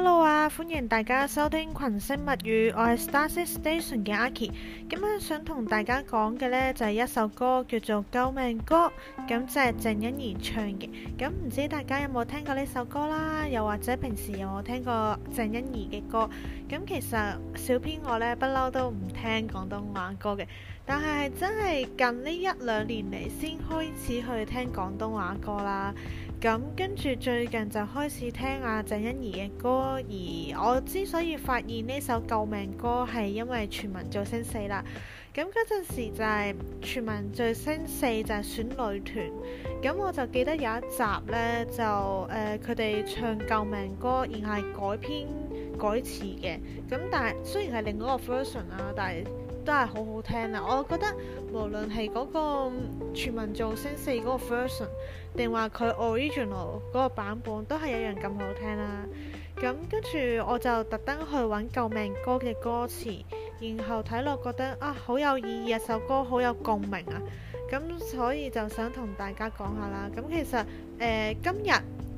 Hello 啊，歡迎大家收聽群星物語，我係 Starship Station 嘅 Aki。今日想同大家講嘅呢，就係一首歌叫做《救命歌》，咁就係鄭欣宜唱嘅。咁唔知大家有冇聽過呢首歌啦？又或者平時有冇聽過鄭欣宜嘅歌？咁其實小編我呢，不嬲都唔聽廣東話歌嘅，但係真係近呢一兩年嚟先開始去聽廣東話歌啦。咁跟住最近就開始聽阿鄭欣宜嘅歌，而我之所以發現呢首救命歌係因為全民造星4啦。咁嗰陣時就係全民造星4就係選女團，咁我就記得有一集呢，就佢哋唱救命歌，然後係改編改詞嘅。咁但係雖然係另外一個 version 啊，但係都係好好聽啊！我覺得無論係嗰個全民造星4嗰個 version，定話佢 original 嗰個版本，都係一樣咁好聽啦。咁跟住我就特登去揾救命歌嘅歌詞，然後睇落覺得啊好有意義，首歌好有共鳴啊！咁所以就想同大家講下啦。咁其實今日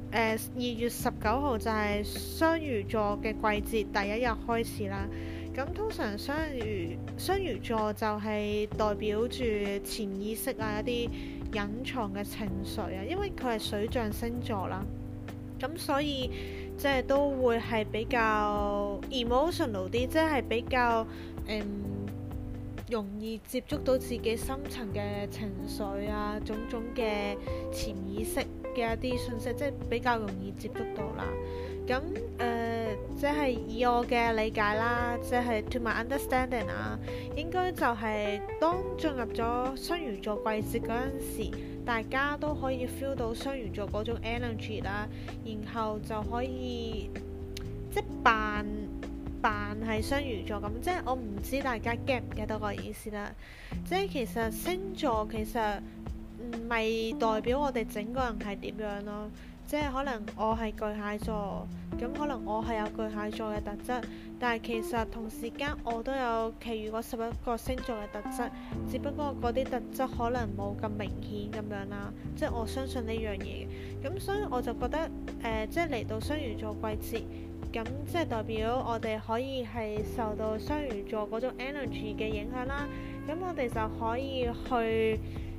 2月19號就係雙魚座嘅季節第一日開始啦。咁通常雙魚座就係代表住潛意識啊，一啲隱藏嘅情緒啊，因為佢係水象星座啦，咁所以即係都會係比較 emotional 啲，即係比較容易接觸到自己深層嘅情緒啊，種種嘅潛意識嘅一啲信息，即係比較容易接觸到啦。咁即係以我嘅理解啦，即係 to my understanding 啊，應該就係當進入咗雙魚座季節嗰陣時，大家都可以 feel 到雙魚座嗰種 energy 啦，然後就可以即係扮係雙魚座咁，即係我唔知大家 get 唔 get 到個意思啦。即係其實星座其實唔係代表我哋整個人係點樣咯。即係可能我係巨蟹座，咁可能我係有巨蟹座嘅特質，但係其實同時間我都有其餘嗰11個星座嘅特質，只不過嗰啲特質可能冇咁明顯咁樣啦。即係我相信呢樣嘢嘅，咁所以我就覺得即係嚟到雙魚座季節，咁即係代表我哋可以係受到雙魚座嗰種 energy 嘅影響啦。咁我哋就可以去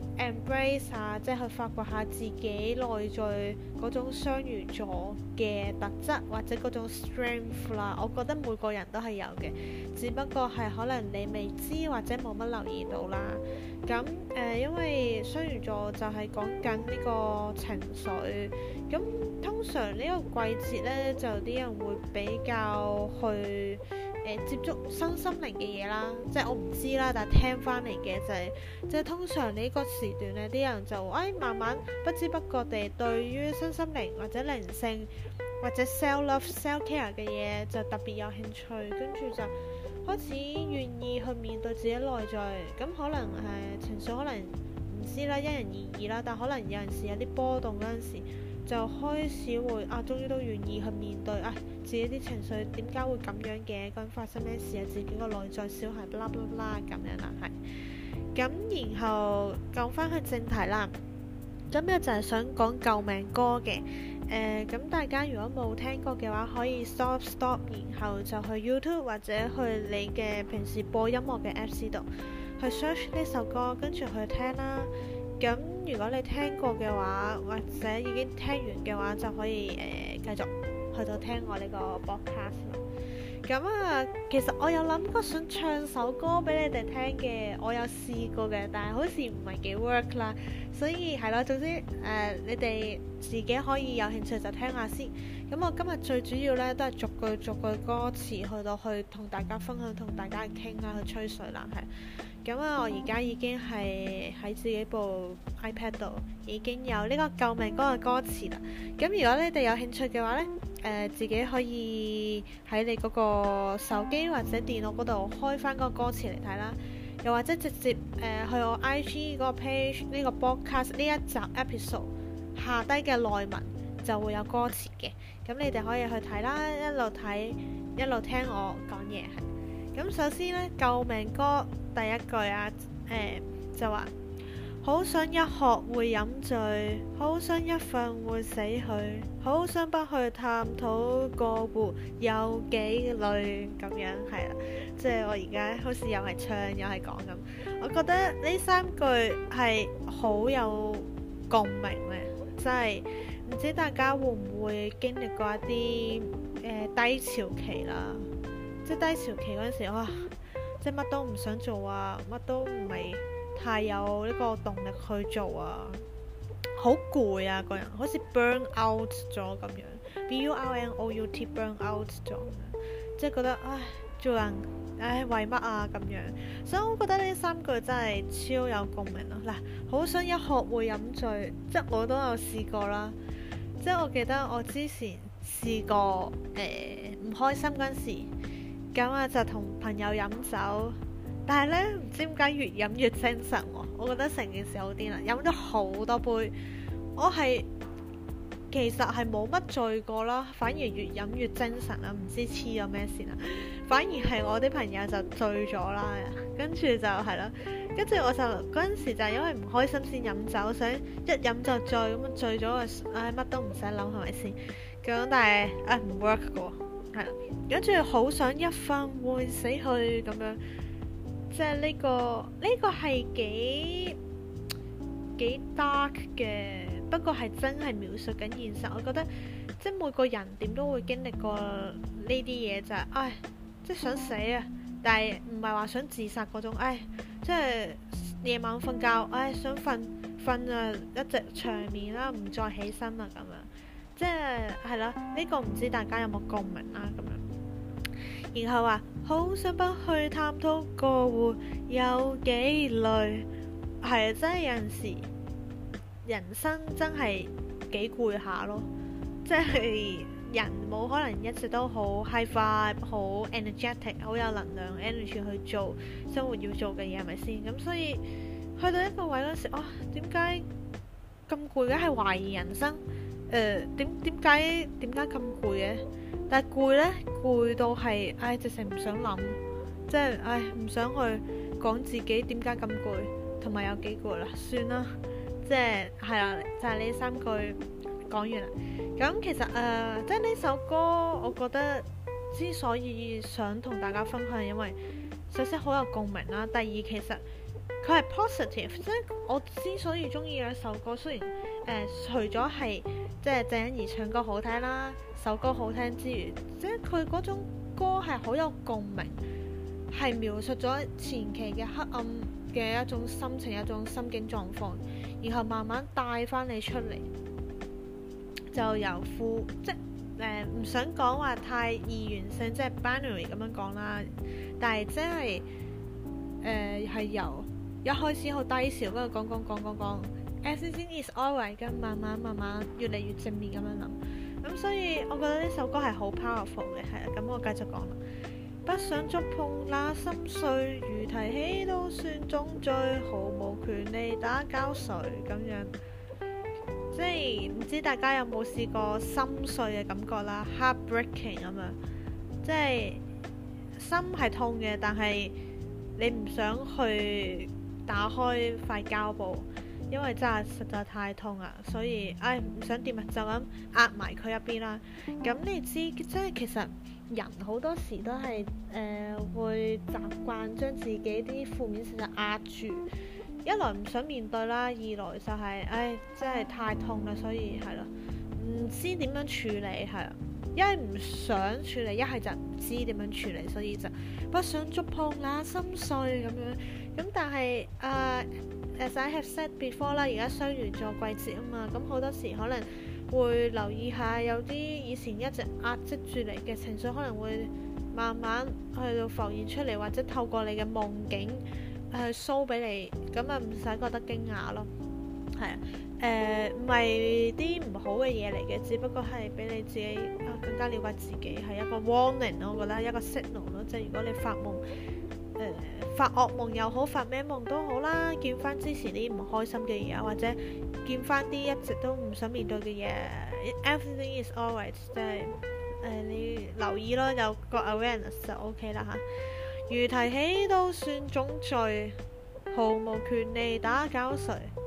embrace 啊，即係去發掘下自己內在嗰種雙魚座嘅特質或者嗰種 strength 啦。我覺得每個人都係有嘅，只不過係可能你未知或者冇乜留意到啦。咁因為雙魚座就係講緊呢個情緒，咁通常呢個季節呢，就啲人會比較去接觸身心靈嘅嘢啦，即係我唔知啦，但係聽翻嚟嘅就係，即係通常呢個時段呢，啲人就慢慢不知不覺地對於身心靈或者靈性或者 self love、self care 嘅嘢就特別有興趣，跟住就開始願意去面對自己內在。咁可能情緒可能唔知啦，因人而異啦，但可能有陣時有啲波動嗰陣時，就開始會終於都願意去面對自己啲情緒點解會咁樣嘅，究竟發生咩事啊？自己個內在小孩啦啦啦咁樣啦，係咁。然後講翻去正題啦，今日就係想講救命歌嘅。咁大家如果冇聽過嘅話，可以 stop，然後就去 YouTube 或者去你嘅平時播音樂嘅 Apps 度去 search 呢首歌，跟住去聽啦。咁如果你聽過嘅話，或者已經聽完嘅話，就可以繼續去到聽我呢個 podcast 啦。咁其實我有諗過想唱首歌俾你哋聽嘅，我有試過嘅，但係好似唔係幾 work 啦。所以係咯，總之你哋自己可以有興趣就聽下先。咁我今日最主要呢，都係逐句歌詞去到去同大家分享，同大家傾下，去吹水啦，係。咁我而家已經係喺自己部 iPad 度已經有呢個救命歌嘅歌詞啦。咁如果你哋有興趣嘅話呢，自己可以喺你嗰個手機或者電腦嗰度開翻嗰個歌詞嚟睇啦，又或者直接去我 IG 嗰個 page 呢個 podcast 呢一集 episode 下低嘅內文就會有歌詞嘅。咁你哋可以去睇啦，一路睇一路聽我講嘢係。咁首先呢，救命歌第一句就話好想一喝會飲醉，好想一瞓會死去，好想不去探討過活有幾累咁樣，係啦，即係我而家好似又係唱又係講咁，我覺得呢三句係好有共鳴咧，即係唔知大家會唔會經歷過一啲低潮期啦，即係低潮期嗰陣時，哇，即係乜都唔想做啊，乜都唔係太有呢個動力去做啊，好攰啊，個人好似 burn out 咗咁樣，burnout burn out 咗，即係覺得唉，做人唉為乜啊咁樣，所以我覺得呢三句真係超有共鳴咯。嗱，好想一喝會飲醉，即係我都有試過啦，即係我記得我之前試過唔開心嗰陣時，咁啊就同朋友飲酒。但係呢，唔知點解越飲越精神喎，我覺得成件事好癲啦，飲咗好多杯，我其實係冇乜醉過啦，反而越飲越精神啦，唔知黐咗咩線啦，反而係我啲朋友就醉咗啦，跟住就係啦，跟住我就嗰陣時就因為唔開心先飲酒，想一飲就醉，咁醉咗就唉乜都唔使諗係咪先？咁但係唔 work 嘅喎，係啦，跟住好想一瞓會死去咁樣。即係呢個係幾 dark 嘅，不過係真係描述緊現實。我覺得即係每個人點都會經歷過呢啲嘢，就係唉，即係想死啊！但係唔係話想自殺嗰種，唉，即係夜晚瞓覺，唉，想瞓啊一直長眠啦，唔再起身啦咁樣，即係啦。呢個唔知大家有冇共鳴啦咁樣。然後話好想不去探討過活有幾累，係真係有陣時人生真係幾攰下咯，即係人冇可能一直都好 high vibe 好 energetic 好有能量 energy 去做生活要做嘅嘢，係咪先？咁所以去到一個位嗰時，點解咁攰嘅？係懷疑人生，點解咁攰嘅？但係攰呢，攰到係直情唔想諗，即係唔想去講自己點解咁攰，同埋有幾攰啦，算啦，即係啦，就係呢三句講完啦。咁其實即係呢首歌，我覺得之所以想同大家分享，因為首先好有共鳴啦，第二其實佢係 positive，即係我之所以中意呢首歌，雖然除咗係即係鄭欣宜唱歌好聽啦，首歌好聽之餘，即係佢嗰種歌係好有共鳴，係描述咗前期嘅黑暗嘅一種心情、一種心境狀況，然後慢慢帶翻你出嚟，就由即係唔想講話太二元性，即係 binary 咁樣講啦，但係即係係由一開始好低潮，跟住講，everything is alright，咁慢慢越嚟越正面咁樣諗，咁所以我覺得呢首歌係好 powerful 嘅，係啦，咁我繼續講啦。不想觸碰那心碎，如提起都算種罪，毫無權利打攪誰咁樣。即係唔知大家有冇試過心碎嘅感覺啦 ，heartbreaking 咁樣，即係心係痛嘅，但係你唔想去打開塊膠布，因為真係實在太痛啦，所以唔想掂啊，就咁壓埋佢一邊啦。咁你知即係其實人好多時都係會習慣將自己啲負面事實壓住，一來唔想面對啦，二來就係真係太痛啦，所以係咯，唔知點樣處理，係啊，一係唔想處理，一係就唔知點樣處理，所以就不想觸碰那心碎咁樣。咁但係as I have said before 啦，而家雙魚座季節啊嘛，咁好多時可能會留意下有啲以前一直壓積住嚟嘅情緒，可能會慢慢去到浮現出嚟，或者透過你嘅夢境去 show 俾你，咁唔使覺得驚訝咯。係啊，唔係啲唔好嘅嘢嚟嘅，只不過係俾你自己更加了解自己，係一個 warning 咯，我覺得一個 signal 咯，即係如果你發夢發惡夢又好，發咩夢都好啦，見翻之前啲唔開心嘅嘢，或者見翻啲一直都唔想面對嘅嘢 ，everything is alright， 即係你留意咯，有個 awareness 就 OK 啦嚇。如提起都算種罪，毫無權利打攪誰。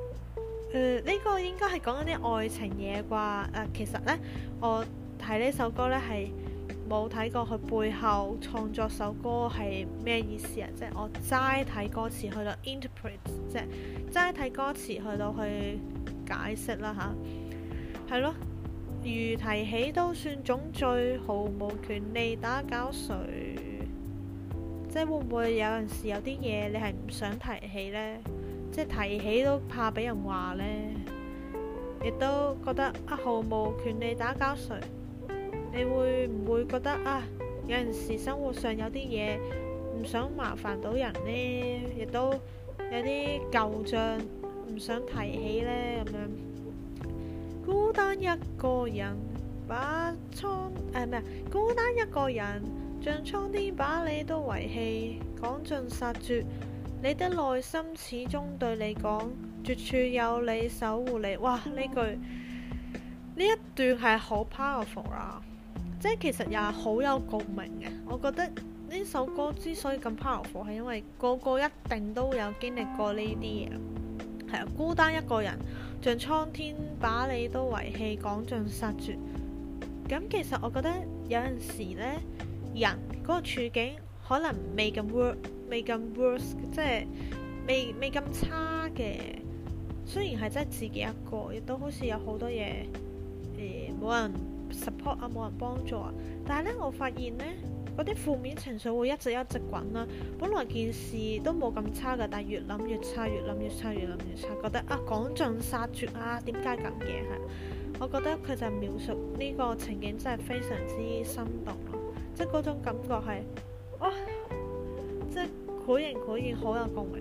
呢個應該係講緊啲愛情嘢啩。其實呢，我睇呢首歌呢係冇睇過佢背後創作首歌係咩意思啊，即係我齋睇歌詞去到 interpret， 即係齋睇歌詞去到去解釋啦吓，係咯。如提起都算種罪，毫無權利打攪誰。即係會唔會有陣時有啲嘢你係唔想提起呢？即係提起都怕俾人話呢，亦都覺得毫無權利打攪誰。你會唔會覺得有陣時生活上有啲嘢唔想麻煩到人呢？亦都有啲舊賬唔想提起呢？咁樣孤單一個人把孤單一個人像蒼天把你都遺棄，趕盡殺絕。你的內心始終對你講，絕處有你守護你。哇！呢一段係好 powerful 啦，即係其實又係好有共鳴嘅。我覺得呢首歌之所以咁 powerful，係因為個個一定都有經歷過呢啲嘢。係啊，孤單一個人，像蒼天把你都遺棄，趕盡殺絕。咁其實我覺得有陣時呢，人嗰個處境可能未咁 worse， 即係未咁差嘅。雖然係真係自己一個，亦都好似有好多嘢冇人 support 冇人幫助啊。但係呢，我發現呢，嗰啲負面情緒會一直滾啦。本來件事都冇咁差㗎，但係越諗越差，越諗越差，覺得趕盡殺絕點解咁嘅？係，我覺得佢就描述呢個情景真係非常之生動咯，即係嗰種感覺係即係繪形好有共鳴。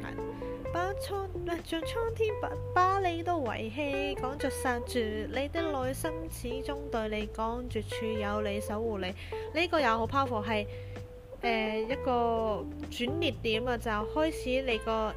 像蒼天把你都遺棄，趕盡殺絕。你的內心始終對你講，絕處有你守護你。呢個又好 powerful，係一個轉捩點啊！就開始你個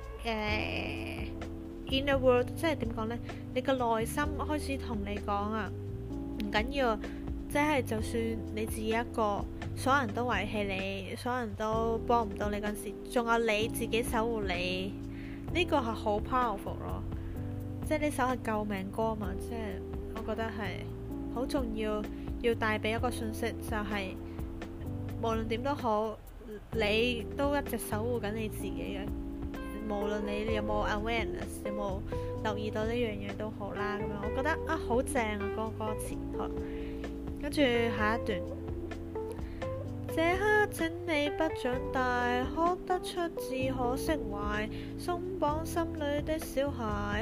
inner world， 即係點講呢？你個內心開始同你講唔緊要，即係就算你自己一個，所有人都遺棄你，所有人都幫唔到你嗰陣時，仲有你自己守護你。呢個係好 powerful 咯，即係呢首係救命歌嘛，即係我覺得係好重要，要帶俾一個信息，就係無論點都好，你都一直守護緊你自己嘅，無論你有冇 awareness， 有冇留意到呢樣嘢都好啦。咁樣我覺得好正啊，嗰個歌詞。好，跟住下一段。這刻請你不長大，哭得出只可釋懷，鬆綁心裏的小孩。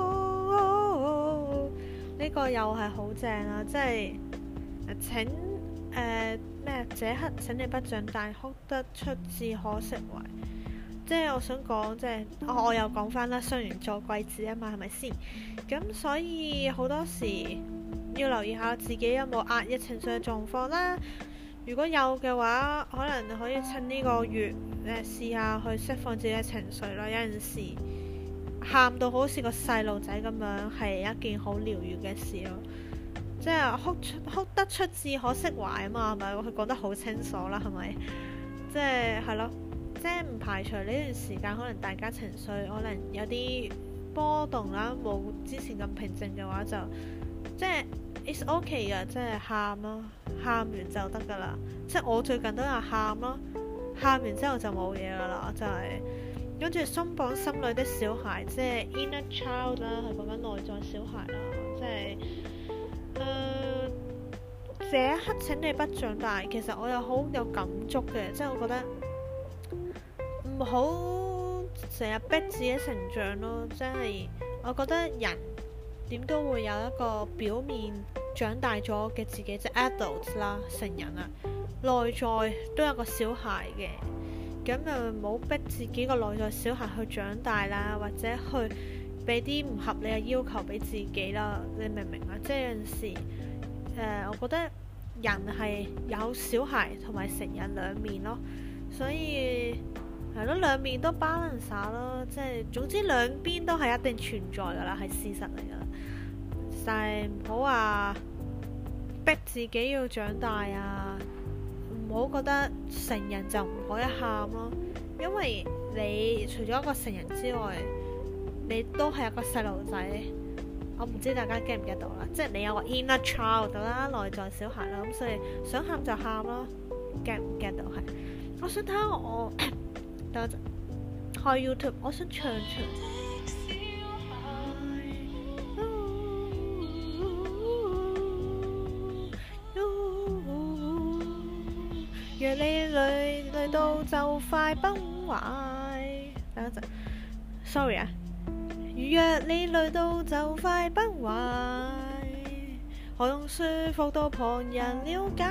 呢個又係好正啊！即係請這刻請你不長大，哭得出只可釋懷。即係我想講，即係我又講翻啦，雙魚座季節啊嘛，係咪先？咁所以好多時要留意下自己有冇壓抑情緒嘅狀況啦。如果有嘅話，可能可以趁呢個月試下去釋放自己嘅情緒啦。有陣時喊到好似個細路仔咁樣，係一件好療愈嘅事咯。即係哭得出至可釋懷啊嘛，係咪？佢講得好清楚啦，係咪？即係咯，即係唔排除呢段時間可能大家情緒可能有啲波動啦，冇之前咁平靜嘅話，就即係 it's okay 嘅，即係喊咯。喊完就得噶啦，即係我最近都有喊咯，喊完之後就冇嘢噶啦，就係跟住鬆綁心裏的小孩，即係 inner child 啦，係講緊內在小孩啦，即係這一刻請你不長大，其實我又好有感觸嘅，即係我覺得唔好成日逼自己成長咯，即係我覺得人點都會有一個表面長大咗嘅自己，即係 adult 啦，成人啦，內在都有個小孩嘅，咁就唔好逼自己個內在小孩去長大啦，或者去俾啲唔合理嘅要求俾自己啦，你明唔明啊？即係有陣時我覺得人係有小孩同埋成人兩面咯，所以係咯，兩面都 balance 下咯，即係總之兩邊都係一定存在噶啦，係事實嚟噶啦。但係唔好話逼自己要長大啊，唔好覺得成人就唔可以喊咯，因為你除咗一個成人之外， 你都係一個細路仔。我唔知大家 get 唔 get 到啦，即係你有個 inner child 啦，內在小孩啦，咁所以想喊就喊啦。get 唔 get 到係？我想睇下我等一陣開 YouTube， 我想唱若你累到就快崩壞，等一陣 sorry 啊。若你累到就快崩壞，何用說服到旁人了解？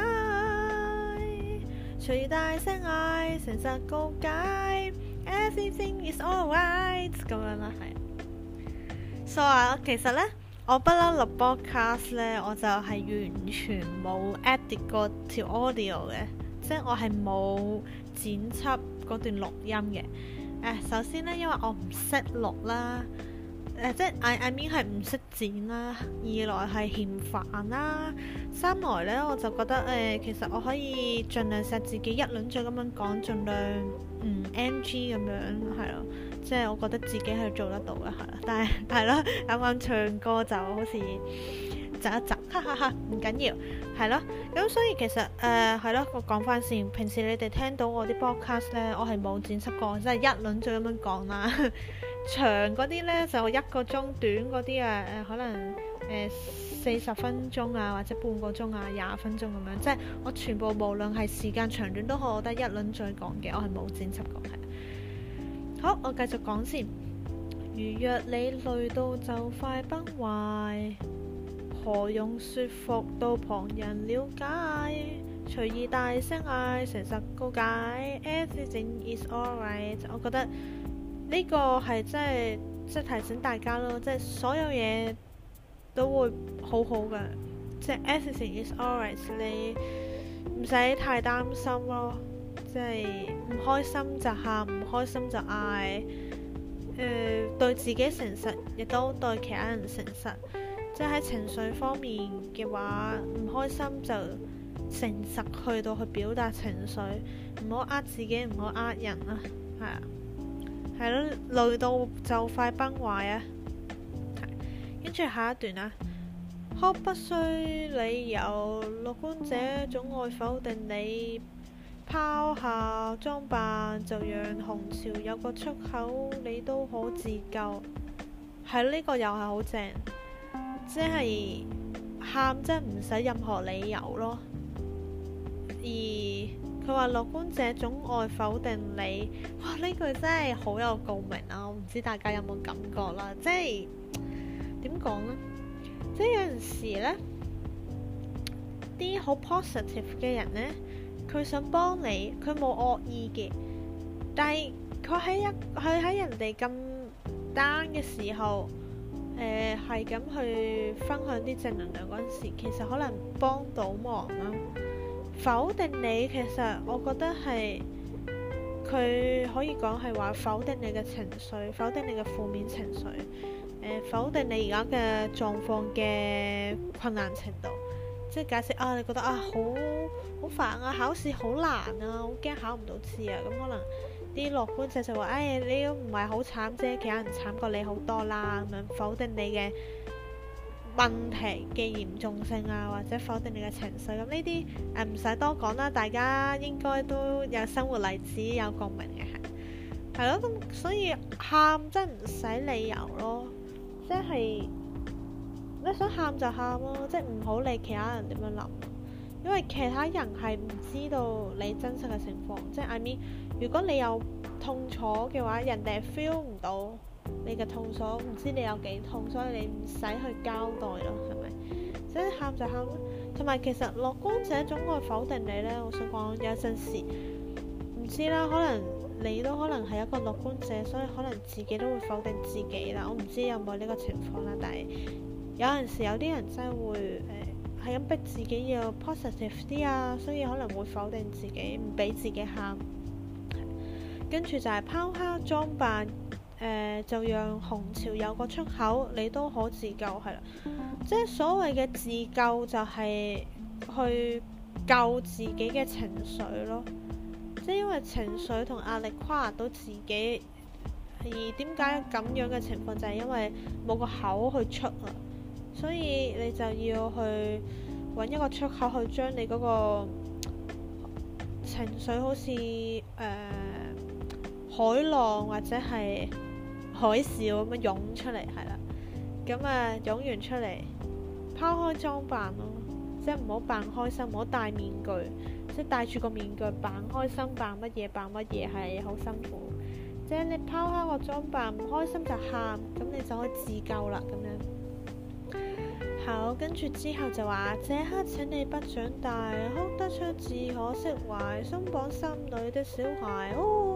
隨大聲嗌，誠實告解 ，Everything is alright 咁樣啦，係。所以其實呢，我不嬲錄 podcast 呢，我就係完全冇 edit 過條 audio 嘅，即係我係冇剪輯嗰段錄音嘅。首先呢，因為我唔識錄啦。即係 I mean 係唔識剪啦，二來係嫌煩啦，三來呢，我就覺得其實我可以盡量錫自己一輪嘴咁樣講，盡量唔 NG 咁樣係咯，即係我覺得自己係做得到嘅係啦，但係係咯啱啱唱歌就好似窒一窒，哈哈哈，唔緊要係咯，咁所以其實係咯，我講翻先，平時你哋聽到我啲 podcast 呢，我係冇剪輯過，即係一輪嘴咁樣講啦。長嗰啲呢，就1個鐘，短嗰啲可能40分鐘啊，或者半個鐘啊，20分鐘咁樣，即係我全部無論係時間長短都好，我都係一輪再講嘅，我係冇剪輯過係。好，我繼續講先。如若你累到就快崩壞，何用說服到旁人了解？隨意大聲嗌，誠實告解 ，Everything is alright。我覺得呢個係即係提醒大家咯，即係所有嘢都會好好嘅，即係 everything is alright， 你唔使太擔心咯，即係唔開心就喊，唔開心就嗌，對自己誠實，亦都對其他人誠實，即係喺情緒方面嘅話，唔開心就誠實去到去表達情緒，唔好呃自己，唔好呃人啊，係啊。係咯，累到就快崩壞啊！跟住下一段啊，哭不需理由，樂觀者總愛否定你，拋下裝扮就讓紅潮有個出口，你都可自救。係呢個又係好正，即係喊真係唔使任何理由咯，而佢話樂觀者總愛否定你，哇！呢句真係好有共鳴啊！我唔知大家有冇感覺啦，即係點講呢？即係有陣時呢，啲好 positive 嘅人呢，佢想幫你，佢冇惡意嘅，但係佢喺人哋咁 down 嘅時候，係咁去分享啲正能量嗰陣時，其實可能幫到忙啦。否定你，其實我覺得係佢可以講係話否定你嘅情緒，否定你嘅負面情緒，否定你而家嘅狀況嘅困難程度，即係解釋啊，你覺得啊好煩啊，考試好難啊，好驚考唔到試啊，咁可能啲樂觀者就話，你都唔係好慘啫，其他人慘過你好多啦，咁樣否定你嘅問題嘅嚴重性啊，或者否定你嘅情緒，咁呢啲唔使多講啦，大家應該都有生活例子有共鳴嘅，係咯，咁所以喊真係唔使理由咯，即係你想喊就喊咯，即係唔好理其他人點樣諗，因為其他人係唔知道你真實嘅情況，即係 I mean，如果你有痛楚嘅話，人哋 feel 唔到你嘅痛楚，唔知你有幾痛，所以你唔使去交代咯，係咪？所以喊就喊咯。同埋其實樂觀者總愛否定你呢，我想講有陣時唔知啦，可能你都可能係一個樂觀者，所以可能自己都會否定自己啦。我唔知有冇呢個情況啦，但係有陣時有啲人真係會係咁逼自己要 positive 啲啊，所以可能會否定自己，唔俾自己喊。跟住就係拋下裝扮。就讓紅潮有個出口，你都可自救，係啦。即係所謂嘅自救就係去救自己嘅情緒咯。即係因為情緒同壓力跨到自己， 而點解咁樣嘅情況就係因為冇個口去出啊，所以你就要去揾一個出口去將你嗰個情緒好似海浪或者係海嘯咁樣湧出嚟，係啦。咁湧完出嚟，拋開裝扮咯，即係唔好扮開心，唔好戴面具，即係戴住個面具扮開心，扮乜嘢係好辛苦。即係你拋開個裝扮，唔開心就喊，咁你就可以自救啦。咁樣好，跟住之後就話：這刻請你不長大，哭得出自可釋懷，鬆綁心裏的小孩。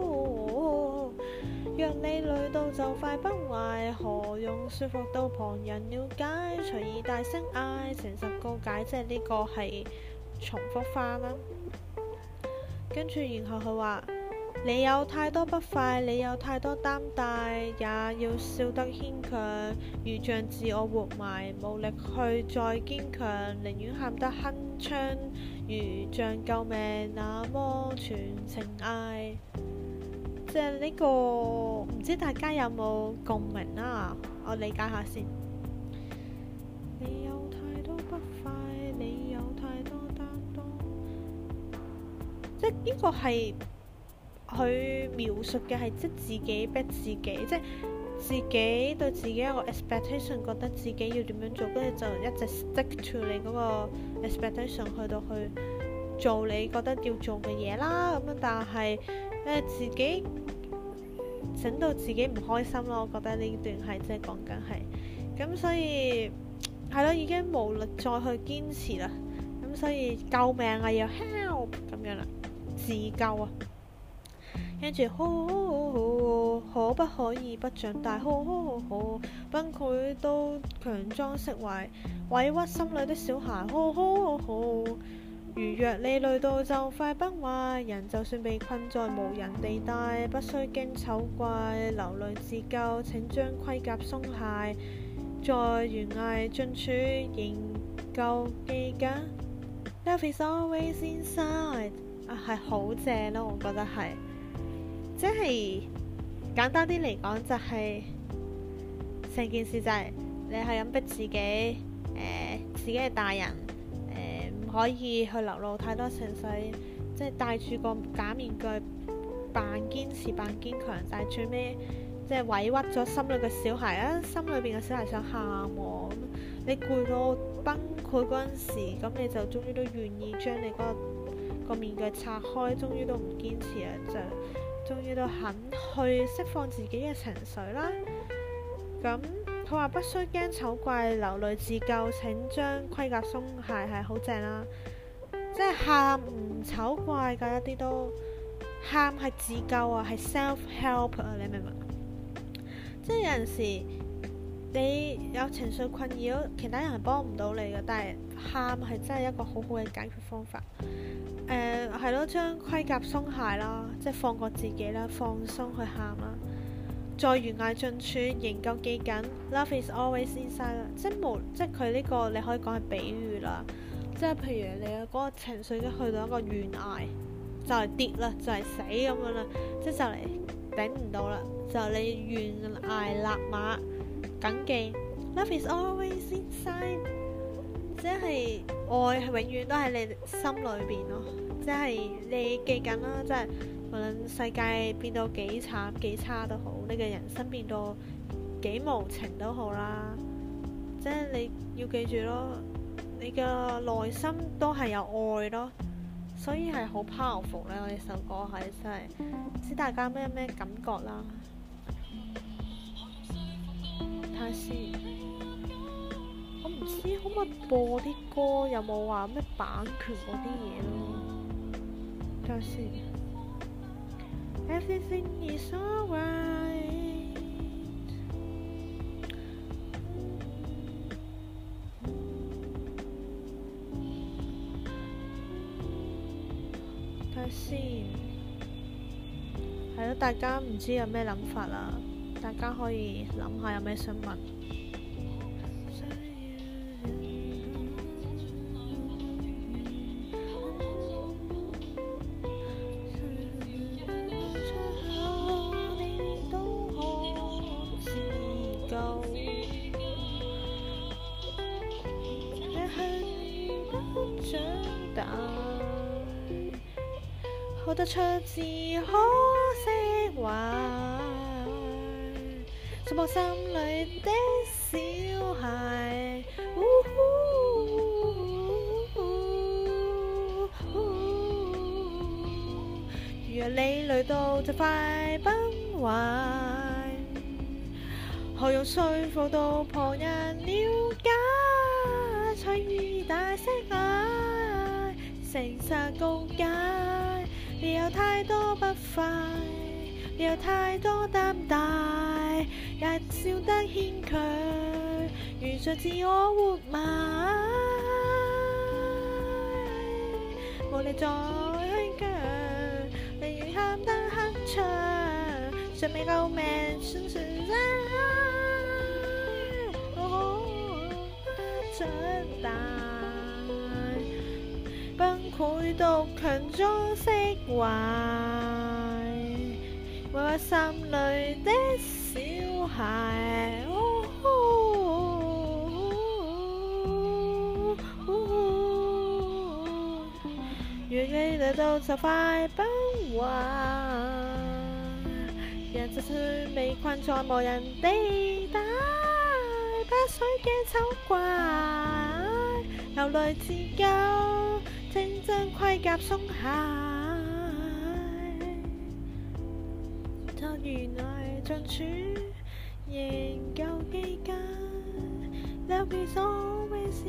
若你累到就快崩壞，何用說服到旁人了解？隨意大聲嗌，誠實告解，即係呢個係重複翻啦。跟住然後佢話：你有太多不快，你有太多擔帶，也要笑得牽強，如像自我活埋，無力去再堅強，寧願喊得鏗鏘，如像救命那麼全情嗌。即係呢個唔知大家有冇共鳴啊？我理解下先。你有太多不快，你有太多擔當，即係呢個係佢描述嘅係即自己逼自己，即係自己對自己有個 expectation， 覺得自己要點樣做，跟住就一直 stick to 你嗰個 expectation 去到去做你覺得要做嘅嘢啦。咁樣但係自己整到自己唔開心咯。我覺得呢段係即係講緊係咁，所以係咯，已經無力再去堅持啦。咁所以救命啊，要 help 咁樣啦，自救啊。跟住可不可以不長大？崩潰都強裝釋懷，委屈心裏的小孩。如若你累到就快崩壞，人就算被困在無人地帶，不需驚醜怪，流淚自救，請將盔甲鬆懈，在懸崖盡處仍舊記緊。Love is always inside， 係好正咯，我覺得係。即係簡單啲嚟講，就係成件事就係你係咁逼自己，自己係大人，唔可以去流露太多情緒，即係戴住個假面具扮堅持扮堅強，但係最尾即係委屈咗心裏嘅小孩啊！心裏邊嘅小孩想喊喎，咁你攰到崩潰嗰陣時，咁你就終於都願意將你嗰個面具拆開，終於都唔堅持啦，就終於都肯去釋放自己嘅情緒啦。咁佢話不需驚醜怪，流淚自救，請將盔甲鬆懈，係好正啦。即係喊唔醜怪㗎，一啲都喊係自救啊，係 self help 啊，你明唔明？即係有陣時你有情緒困擾，其他人係幫唔到你嘅，但係喊係真係一個好好嘅解決方法。係咯，將盔甲鬆懈啦，即係放過自己啦，放鬆去喊啦。在懸崖盡處仍舊記緊 Love is always inside 啦，即係佢呢個你可以講係比喻啦。即係譬如你嘅嗰個情緒已經去到一個懸崖，就係跌啦，就係死咁樣啦，即係就嚟頂唔到啦，就你懸崖勒馬，緊記 Love is always inside， 即係愛係永遠都喺你心裏邊咯。即係你記緊啦，即係無論世界變到幾慘幾差都好，你嘅人生變到幾無情都好啦，即係你要記住咯，你嘅內心都係有愛咯，所以係好 powerful 咧。我呢首歌係真係唔知大家咩感覺啦。睇下先，我唔知可唔可以播啲歌，有冇話咩版權嗰啲嘢咯。睇下先。Everything is alright。睇下先，係咯，大家唔知有咩諗法啦，大家可以諗下有咩想問。 帶，哭得出只可釋懷，觸碰心裏的小孩。如若你累到就快崩壞，何用說服到旁人了解？隨意大聲嗌，誠實告解。你有太多不快，你有太多擔帶，也笑得牽強，如像自我活埋，無力再虛強，寧願喊得鏗鏘，尚未夠命，算算真長大，崩潰到強裝釋懷，為我心裏的小孩。若你累到就快崩壞，人就算被困在無人地帶，不水嘅醜怪，流淚自救，正將盔甲鬆懈，就原來盡處仍舊記緊，Love is always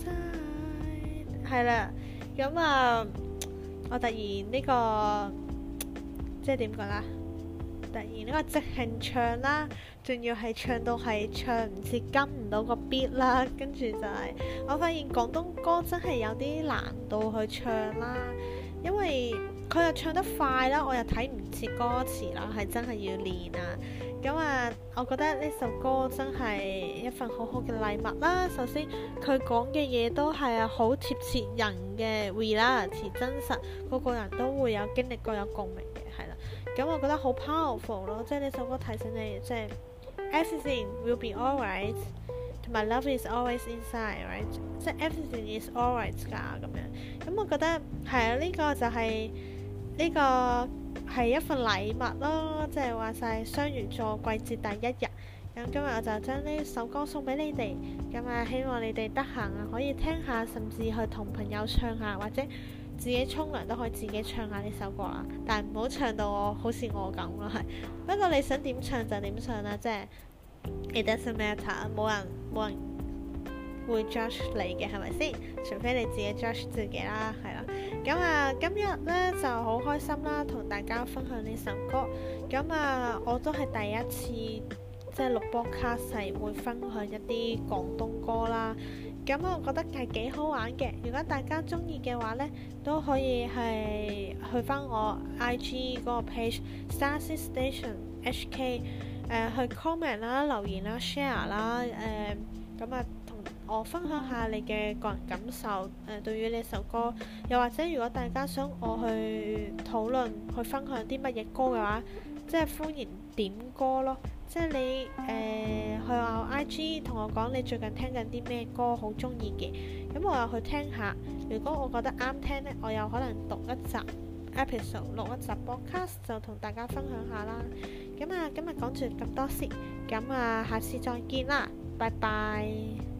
inside。係啦，咁啊，我突然呢個即係點講啦？突然呢個即興唱啦，仲要係唱到係唱唔切跟唔到個 beat 啦，跟住就係我發現廣東歌真係有啲難度去唱啦，因為佢又唱得快啦，我又睇唔切歌詞啦，係真係要練啊。咁啊，我覺得呢首歌真係一份好好嘅禮物啦。首先佢講嘅嘢都係好貼切人嘅 reality 真實，個個人都會有經歷過有共鳴嘅，係啦。咁我覺得好 powerful 咯，即係呢首歌提醒你，即係 everything will be alright， 同埋 love is always inside，right？ 即係 everything is alright 㗎咁樣。咁我覺得係啊，呢個就係呢個係一份禮物咯，即係話晒雙魚座季節第一日。咁今日我就將呢首歌送俾你哋，咁啊希望你哋得閒啊可以聽下，甚至去同朋友唱下，或者自己沖涼都可以自己唱下呢首歌啦。但係唔好唱到好似我咁咯，係。不過你想點唱就點唱啦，即係 it doesn't matter， 冇人會 judge 你嘅，係咪先？除非你自己 judge 自己啦，係啦。咁啊，今日呢就好開心啦，同大家分享呢首歌。咁啊，我都係第一次即係錄播卡係會分享一啲廣東歌啦。咁我覺得係幾好玩嘅。如果大家中意嘅話呢，都可以係去翻我 IG 嗰個 page Starseed Station HK，去 comment 啦、留言啦、share 啦，咁啊同我分享下你嘅個人感受，對於呢首歌。又或者如果大家想我去討論、去分享啲乜嘢歌嘅話，即係歡迎點歌咯。即係你去我 IG 同我講你最近聽緊啲咩歌好中意嘅，咁我又去聽下。如果我覺得啱聽呢，我有可能讀一集 episode， 錄一集 podcast 就同大家分享下啦。咁啊，今日講住咁多先，咁啊，下次再見啦，拜拜。